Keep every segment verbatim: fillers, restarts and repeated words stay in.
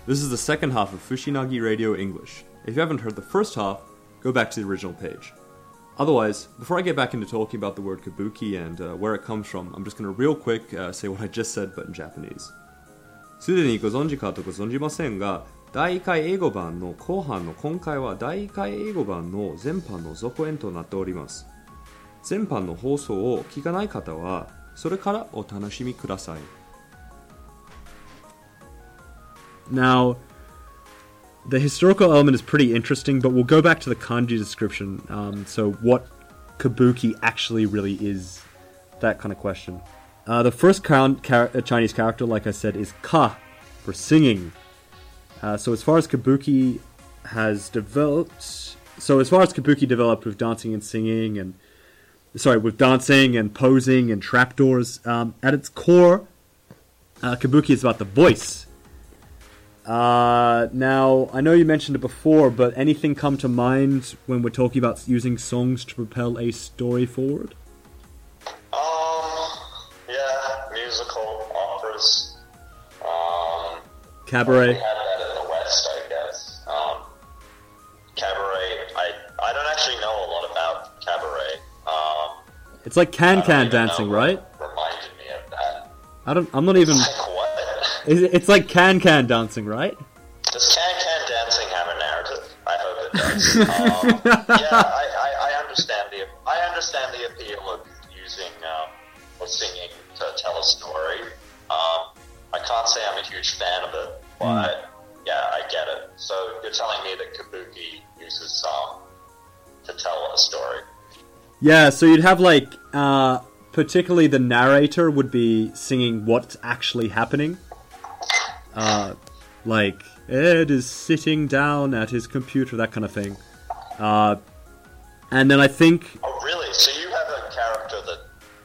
This is the second half of Fushinagi Radio English. If you haven't heard the first half, go back to the original page. Otherwise, before I get back into talking about the word kabuki and uh, where it comes from, I'm just going to real quick uh, say what I just said but in Japanese. すでにご存知かとご存じませんが、第一回英語版の後半の今回は第一回英語版の前半の続編となっております。前半の放送を聞かない方はそれからお楽しみください。Now, the historical element is pretty interesting, but we'll go back to the kanji description. Um, so what kabuki actually really is, that kind of question. Uh, the first count, char- Chinese character, like I said, is ka, for singing. Uh, so as far as kabuki has developed... So as far as kabuki developed with dancing and singing, and... Sorry, with dancing and posing and trapdoors, um, at its core, uh, kabuki is about the voice. Uh, now, I know you mentioned it before, but anything come to mind when we're talking about using songs to propel a story forward? Um, yeah, musical, operas. Um, Cabaret. We had that in the West, I guess. Um, cabaret, I, I don't actually know a lot about cabaret. Um, it's like can-can dancing, right? Reminded me of that. I don't, I'm not even... Like what? It's like can-can dancing, right? Does can-can dancing have a narrative? I hope it does. um, yeah, I, I, I understand the I understand the appeal of using um, or singing to tell a story. Um, I can't say I'm a huge fan of it, but mm. yeah, I get it. So you're telling me that kabuki uses song to tell a story? Yeah, so you'd have like, uh, particularly the narrator would be singing what's actually happening. Uh, like, Ed is sitting down at his computer, that kind of thing. Uh, and then I think... Oh, really? So you have a character that...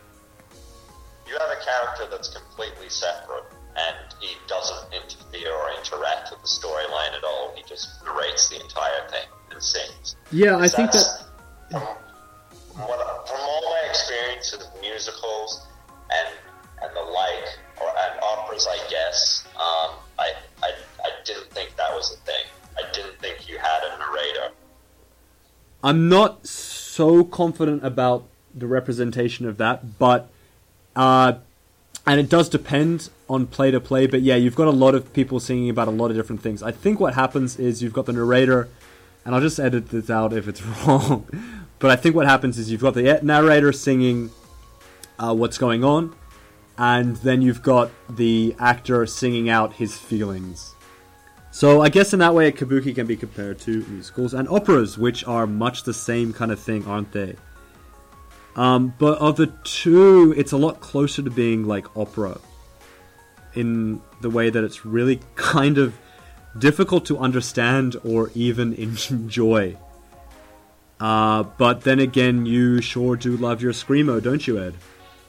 You have a character that's completely separate, and he doesn't interfere or interact with the storyline at all. He just narrates the entire thing and sings. Yeah, I think that... From, what, from all my experience with musicals and and the like, or and operas, I guess, um, I, I I didn't think that was a thing. I didn't think you had a narrator. I'm not so confident about the representation of that, but uh, and it does depend on play to play. But yeah, you've got a lot of people singing about a lot of different things. I think what happens is you've got the narrator, and I'll just edit this out if it's wrong. But I think what happens is you've got the narrator singing uh, what's going on. And then you've got the actor singing out his feelings. So I guess in that way, kabuki can be compared to musicals and operas, which are much the same kind of thing, aren't they? Um, but of the two, it's a lot closer to being like opera, in the way that it's really kind of difficult to understand or even enjoy. Uh, but then again, you sure do love your screamo, don't you, Ed?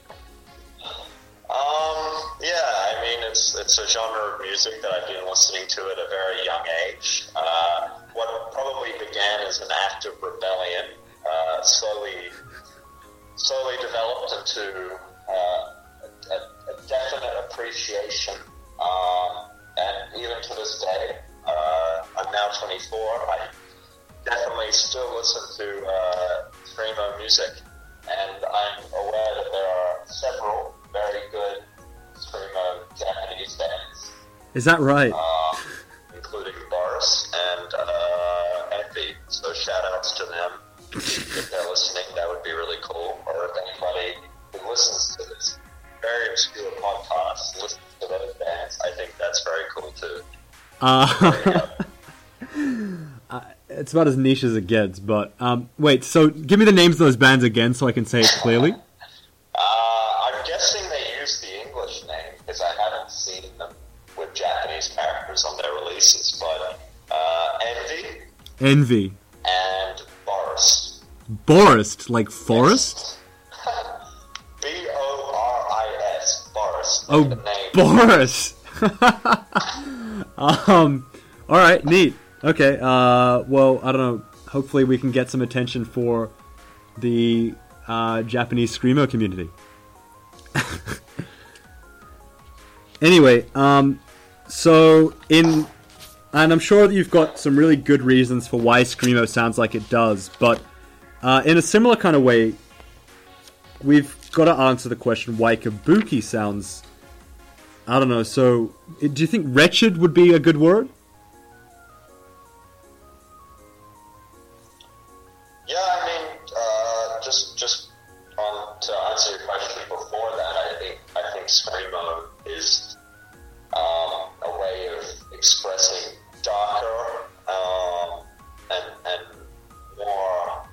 It's, it's a genre of music that I've been listening to at a very young age. Uh, what probably began as an act of rebellion uh, slowly slowly developed into uh, a, a definite appreciation. Um, and even to this day, uh, I'm now twenty-four. I definitely still listen to uh, screamo music, and I'm aware that there are several very good screamo Japanese bands. Is that right? Uh, including Boris and uh, Envy. So shout outs to them. If they're listening, that would be really cool. Or if anybody who listens to this very obscure podcast listens to those bands, I think that's very cool too. Uh, uh, it's about as niche as it gets, but um, wait, so give me the names of those bands again so I can say it clearly. Uh, I'm guessing they use the English name because I haven't seen them with Japanese characters on their releases, but uh, Envy. Envy. And Boris. Boris, like forest? B O R I S, Boris. Oh, the name. Boris! um, alright, neat. Okay, uh, well, I don't know. Hopefully we can get some attention for the uh, Japanese screamo community. Anyway, um, so in and I'm sure that you've got some really good reasons for why Screamo sounds like it does, but uh, in a similar kind of way, we've got to answer the question why Kabuki sounds... I don't know, so do you think wretched would be a good word? Yeah, I mean, uh, just just on to answer your question before that, I think I think Screamo is um, a way of expressing darker um, and and more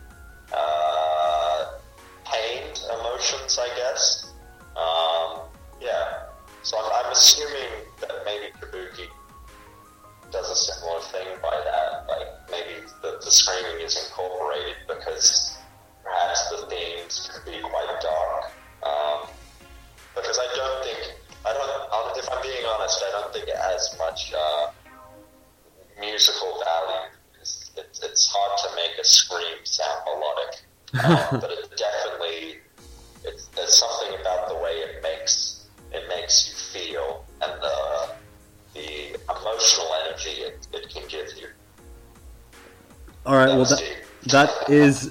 uh, pained emotions, I guess. Um, yeah, so I'm, I'm assuming that maybe Kabuki does a similar thing by that. Like maybe the, the screaming is incorporated because perhaps the themes can be quite dark. Um, because I don't think, I don't, if I'm being honest, I don't think it has much uh, musical value. It's, it's, it's hard to make a scream sound melodic, um, but it definitely, it's, there's something about the way it makes it makes you feel and the the emotional energy it, it can give you. All right, well, that, that is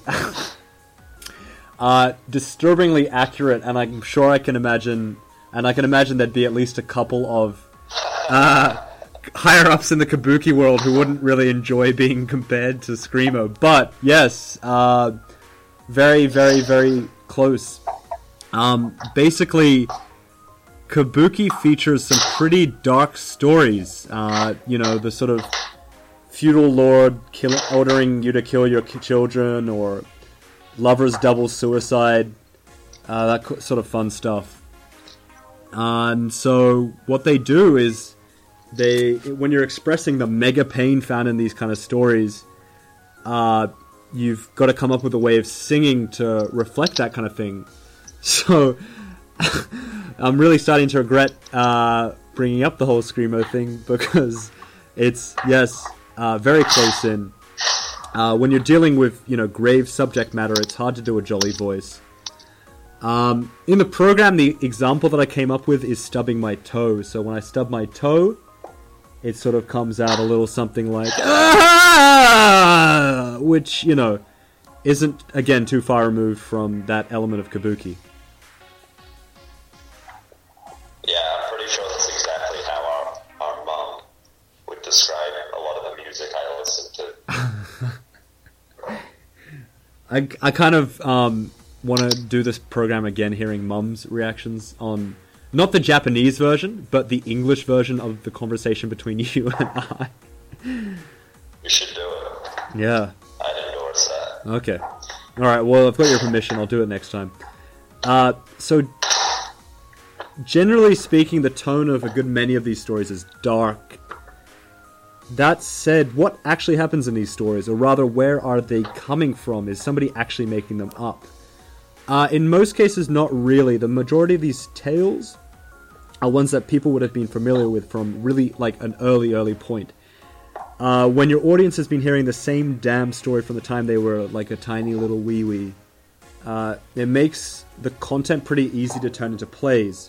uh, disturbingly accurate, and I'm sure I can imagine, and I can imagine there'd be at least a couple of uh, higher-ups in the Kabuki world who wouldn't really enjoy being compared to Screamo. But, yes, uh, very, very, very close. Um, basically... Kabuki features some pretty dark stories. Uh, you know, the sort of feudal lord kill- ordering you to kill your children, or lovers double suicide, uh, that co- sort of fun stuff. And so what they do is, they when you're expressing the mega pain found in these kind of stories, uh, you've got to come up with a way of singing to reflect that kind of thing. So... I'm really starting to regret uh, bringing up the whole Screamo thing, because it's, yes, uh, very close in. Uh, when you're dealing with, you know, grave subject matter, it's hard to do a jolly voice. Um, in the program, the example that I came up with is stubbing my toe. So when I stub my toe, it sort of comes out a little something like, ah! Which, you know, isn't, again, too far removed from that element of Kabuki. Yeah, I'm pretty sure that's exactly how our, our mom would describe a lot of the music I listen to. I, I kind of um, want to do this program again, hearing mum's reactions on, not the Japanese version, but the English version of the conversation between you and I. You should do it. Yeah. I'd endorse that. Okay. Alright, well, I've got your permission. I'll do it next time. Uh, so... Generally speaking, the tone of a good many of these stories is dark. That said, what actually happens in these stories, or rather, where are they coming from? Is somebody actually making them up? Uh, in most cases, not really. The majority of these tales are ones that people would have been familiar with from really, like, an early, early point. Uh, when your audience has been hearing the same damn story from the time they were, like, a tiny little wee-wee, uh, it makes the content pretty easy to turn into plays.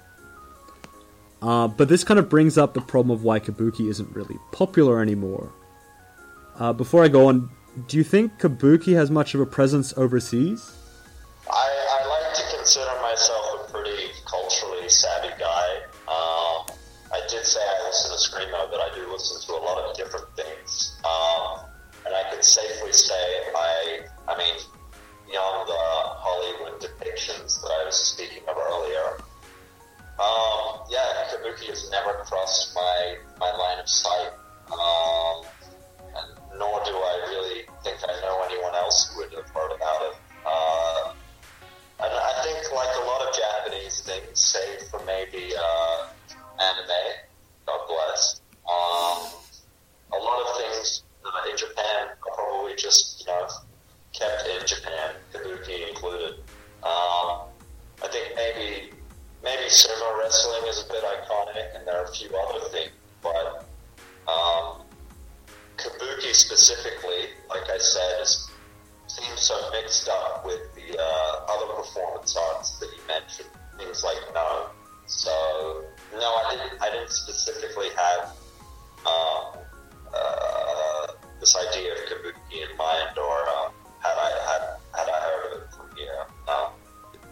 Uh, but this kind of brings up the problem of why Kabuki isn't really popular anymore. Uh, before I go on, do you think Kabuki has much of a presence overseas? I, I like to consider myself a pretty culturally savvy guy. Um, I did say I listen to Screamo, but I do listen to a lot of different things. Um, and I can safely say I, I mean, beyond the Hollywood depictions that I was speaking of earlier, Um, yeah, Kabuki has never crossed my, my line of sight, um, and nor do I really think I know anyone else who would have heard about it. Uh, and I think, like a lot of Japanese things, save for maybe uh, anime, God bless, um, a lot of things uh, in Japan are probably just, you know, kept in Japan, Kabuki included. Um, I think maybe... Maybe sumo wrestling is a bit iconic, and there are a few other things, but um, Kabuki specifically, like I said, is, seems so mixed up with the uh, other performance arts that you mentioned, things like no. So, no, I didn't, I didn't specifically have um,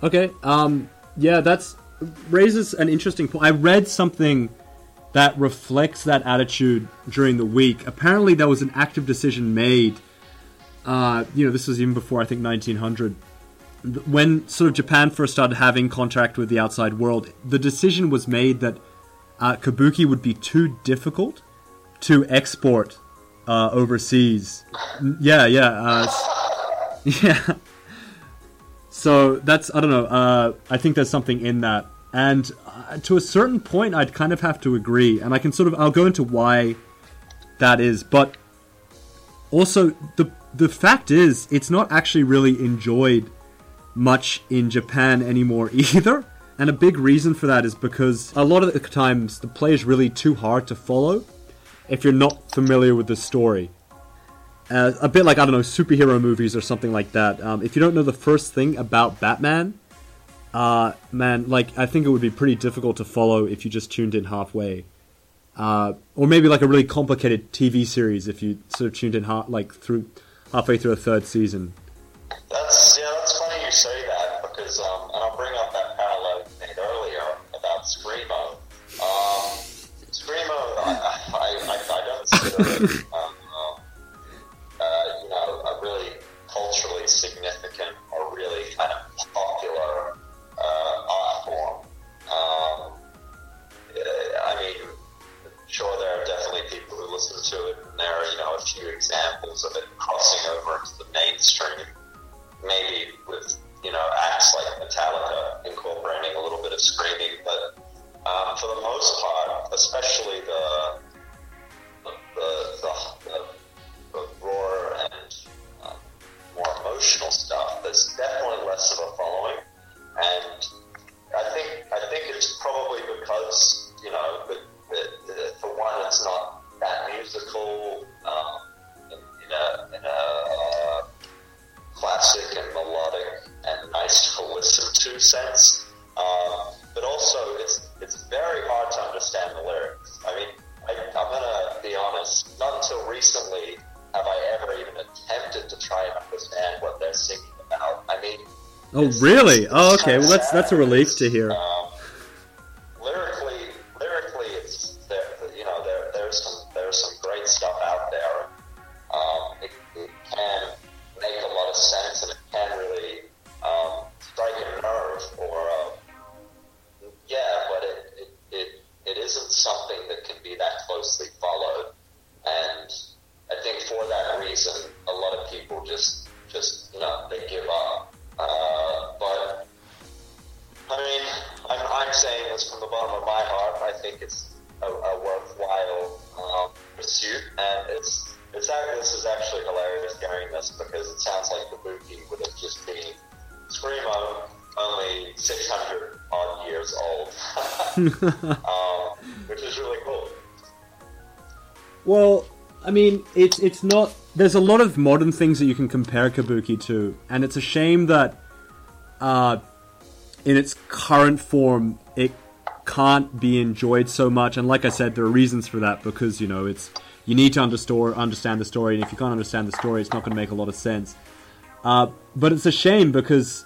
Okay. Um. Yeah, that's raises an interesting point. I read something that reflects that attitude during the week. Apparently, there was an active decision made. Uh, you know, this was even before I think nineteen hundred. When sort of Japan first started having contact with the outside world, the decision was made that uh, kabuki would be too difficult to export uh, overseas. Yeah, yeah, uh, yeah. So that's, I don't know, uh, I think there's something in that. And uh, to a certain point, I'd kind of have to agree. And I can sort of, I'll go into why that is. But also, the the fact is, it's not actually really enjoyed much in Japan anymore either. And a big reason for that is because a lot of the times the play is really too hard to follow if you're not familiar with the story. Uh, a bit like, I don't know, superhero movies or something like that. Um, if you don't know the first thing about Batman, uh, man, like, I think it would be pretty difficult to follow if you just tuned in halfway. Uh, or maybe like a really complicated T V series if you sort of tuned in ha- like through halfway through a third season. That's, yeah, that's funny you say that because, um, and I'll bring up that parallel you made earlier about Screamo. Um, Screamo, I, I, I, I don't consider it, um, um, uh, you know, a really culturally significant or really kind of popular uh, art form. Um, I mean, sure, there are definitely people who listen to it, and there are, you know, a few examples of it crossing over into the mainstream. Maybe with, you know, acts like Metallica incorporating a little bit of screaming, but um, for the most part, especially the the the, the, the raw and uh, more emotional stuff, there's definitely less of a following, and I think I think it's probably because, you know, the, the, the, for one, it's not that musical um, in, in a in a uh, classic and melodic and nice to listen to sense, um, but also it's it's very hard to understand the lyrics. I mean, I, I'm gonna be honest. Not until recently have I ever even attempted to try and understand what they're singing about. I mean, oh really? It's, it's oh, okay. Well, that's that's a relief to hear. Um, lyrically, lyrically, it's there. You know, there there's some there's some great stuff out there. Um, it, it can make a lot of sense, and it can really um, strike a nerve, or uh, yeah, but it, it it it isn't something that can be that closely followed, and I think for that reason, a lot of people just just you know they give up. Uh, but I mean, I'm I'm saying this from the bottom of my heart. I think it's a, a worthwhile um, pursuit, and it's. It's actually, this is actually hilarious hearing this because it sounds like Kabuki would have just been Screamo, only six hundred odd years old, um, which is really cool. Well, I mean, it's it's not. There's a lot of modern things that you can compare Kabuki to, and it's a shame that, uh, in its current form, it can't be enjoyed so much. And like I said, there are reasons for that because, you know, it's. You need to understand understand the story, and if you can't understand the story, it's not going to make a lot of sense. Uh, but it's a shame because,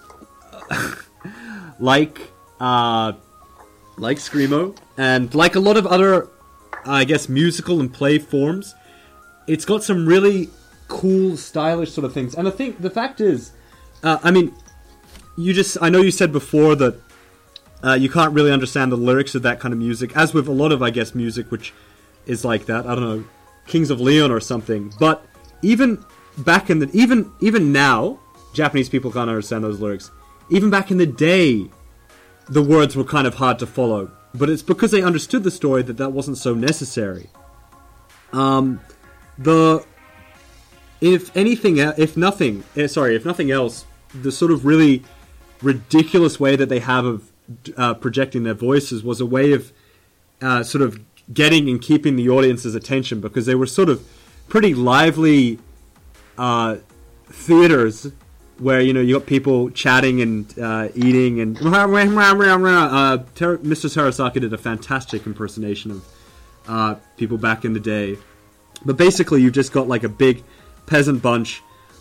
like, uh, like Screamo, and like a lot of other, I guess, musical and play forms, it's got some really cool, stylish sort of things. And I think the fact is, uh, I mean, you just, I know you said before that uh, you can't really understand the lyrics of that kind of music, as with a lot of, I guess, music which is like that. I don't know. Kings of Leon or something, but even back in the even even now, Japanese people can't understand those lyrics. Even back in the day, the words were kind of hard to follow, but it's because they understood the story that that wasn't so necessary. Um, the if anything, if nothing, eh, sorry, if nothing else, the sort of really ridiculous way that they have of uh, projecting their voices was a way of uh, sort of getting and keeping the audience's attention, because they were sort of pretty lively uh, theaters where, you know, you got people chatting and uh, eating and uh, Ter- Mister Terasaki did a fantastic impersonation of uh, people back in the day. But basically you've just got like a big peasant bunch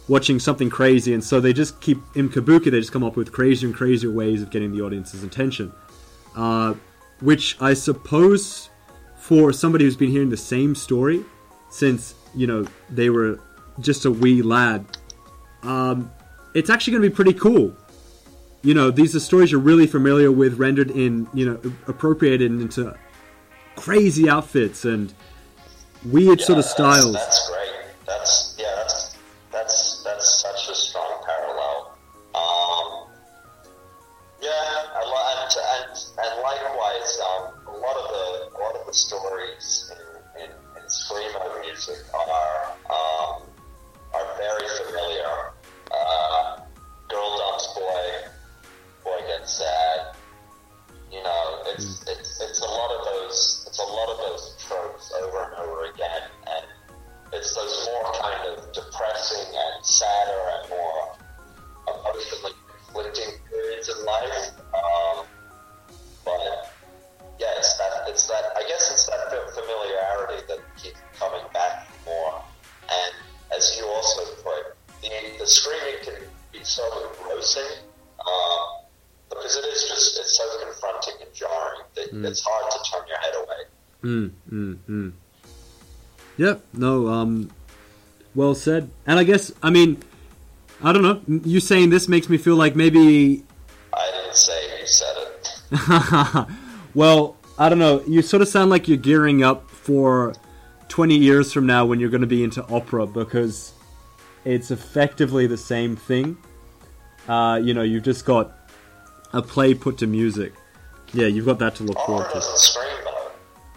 watching something crazy, and so they just keep, in Kabuki, they just come up with crazier and crazier ways of getting the audience's attention. Uh, which I suppose for somebody who's been hearing the same story since, you know, they were just a wee lad, um, it's actually going to be pretty cool. You know, these are stories you're really familiar with, rendered in, you know, appropriated into crazy outfits and weird yeah, sort of that's, styles. That's great. That's, yeah, that's, that's, that's such a strong parallel. Um, yeah, I lo- and, and, and likewise, um, a lot of the, a lot of the stories in, in, in Screamo music are, um, are very familiar. Uh, girl dumps boy, boy gets sad. You know, it's, mm. it's, it's a lot of those, it's a lot of those tropes over and over again, and it's those more kind of depressing and sadder and more emotionally conflicting periods in life. Um, but yeah, it's that, it's that, I guess it's that familiarity that keeps coming back more. And as you also put, the, the screaming can be so engrossing, um, because it is just, it's so confronting and jarring that mm. it's hard to turn your head away. Mm, mm, mm. Yep, no, um, well said. And I guess, I mean, I don't know, you saying this makes me feel like maybe... I didn't say, you said it. Well, I don't know, you sort of sound like you're gearing up for twenty years from now when you're going to be into opera, because it's effectively the same thing. Uh, you know, you've just got a play put to music. Yeah, you've got that to look Opera forward to. Doesn't scream, though.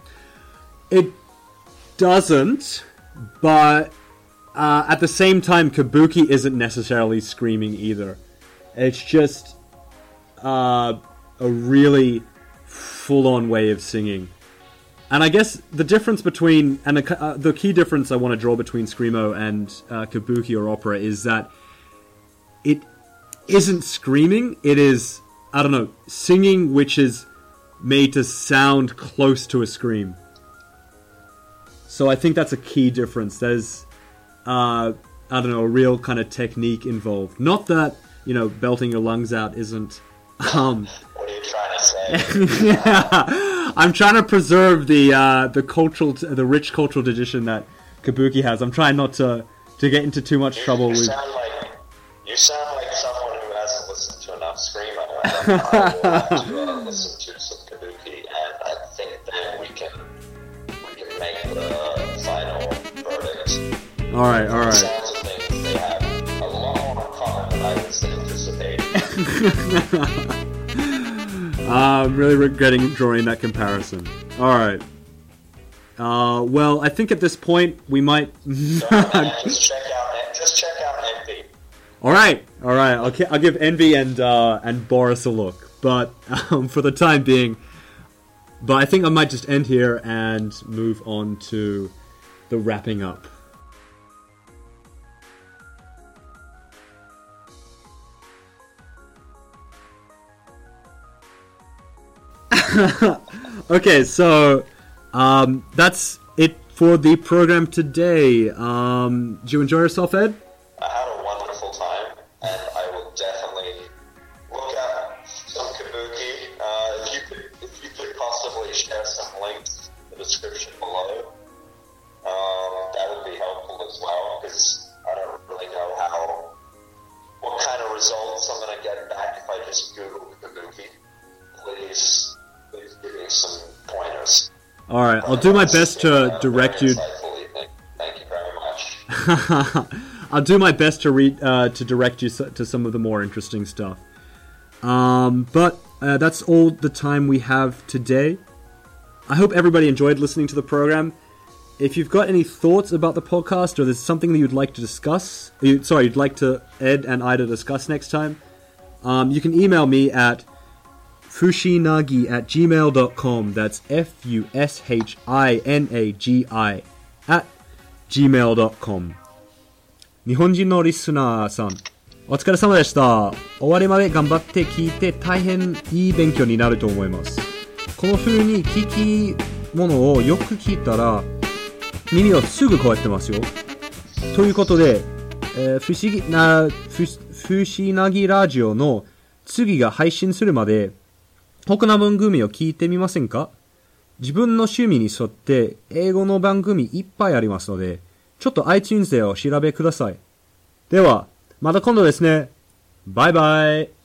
It doesn't, but uh, at the same time, Kabuki isn't necessarily screaming either. It's just uh, a really full-on way of singing. And I guess the difference between, and the, uh, the key difference I want to draw between Screamo and uh, Kabuki or opera is that it isn't screaming, it is, I don't know, singing which is made to sound close to a scream. So I think that's a key difference. There's, uh, I don't know, a real kind of technique involved. Not that, you know, belting your lungs out isn't... Um, what are you trying to say? Yeah, I'm trying to preserve the uh, the cultural, the rich cultural tradition that Kabuki has. I'm trying not to, to get into too much you, trouble you with... Sound like, you sound like someone who hasn't listened to enough Screamo. I will have to uh, listen to some Kabuki, and I think then we can we can make the final verdict. All right, all right. It sounds of things they have a lot more in common than I was anticipating. uh, I'm really regretting drawing that comparison. All right. Uh, well, I think at this point we might. So, man, just check out, just check out Envy. All right, all right. I'll, I'll give Envy and uh, and Boris a look, but um, for the time being, but I think I might just end here and move on to the wrapping up. Okay, so um, that's it for the program today. Um, did you enjoy yourself, Ed? I had a wonderful time, and I will definitely look at some Kabuki. Uh, if you could, if you could possibly share some links in the description below, um, that would be helpful as well, because I don't really know how, what kind of results I'm going to get back if I just Google Kabuki. Please. Please give me some pointers. All right, I'll do my best to direct you. Thank you very much. I'll do my best to read uh, to direct you to some of the more interesting stuff. Um, but uh, that's all the time we have today. I hope everybody enjoyed listening to the program. If you've got any thoughts about the podcast, or there's something that you'd like to discuss, you, sorry, you'd like to Ed and Ida discuss next time, um, you can email me at fushinagi at gmail dot com. That's F U S H I N A G I at gmail dot com. 日本人のリスナーさん、お疲れ様でした。終わりまで頑張って聞いて大変いい勉強になると思います。この風に聞き物をよく聞いたら耳はすぐ変わってますよ。ということで、 えー、不思議な、ふ、不思なぎラジオの次が配信するまで、他の番組を聞いてみませんか？自分の趣味に沿って英語の番組いっぱいありますので、ちょっと iTunes でお調べください。では、また今度ですね。バイバイ。